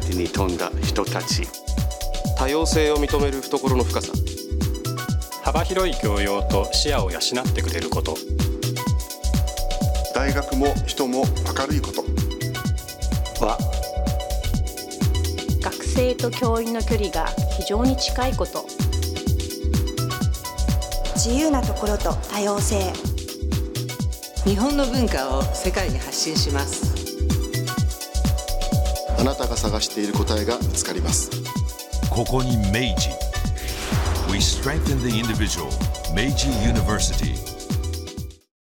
ティに富んだ人たち。 多様性を認める懐の深さ。 幅広い教養と視野を養ってくれること。 大学も人も明るいことは、 学生と教員の距離が非常に近いこと。 自由なところと多様性。 日本の文化を世界に発信します。 あなたが探している答えが見つかります。 ここに明治。We strengthen the individual. Meiji University.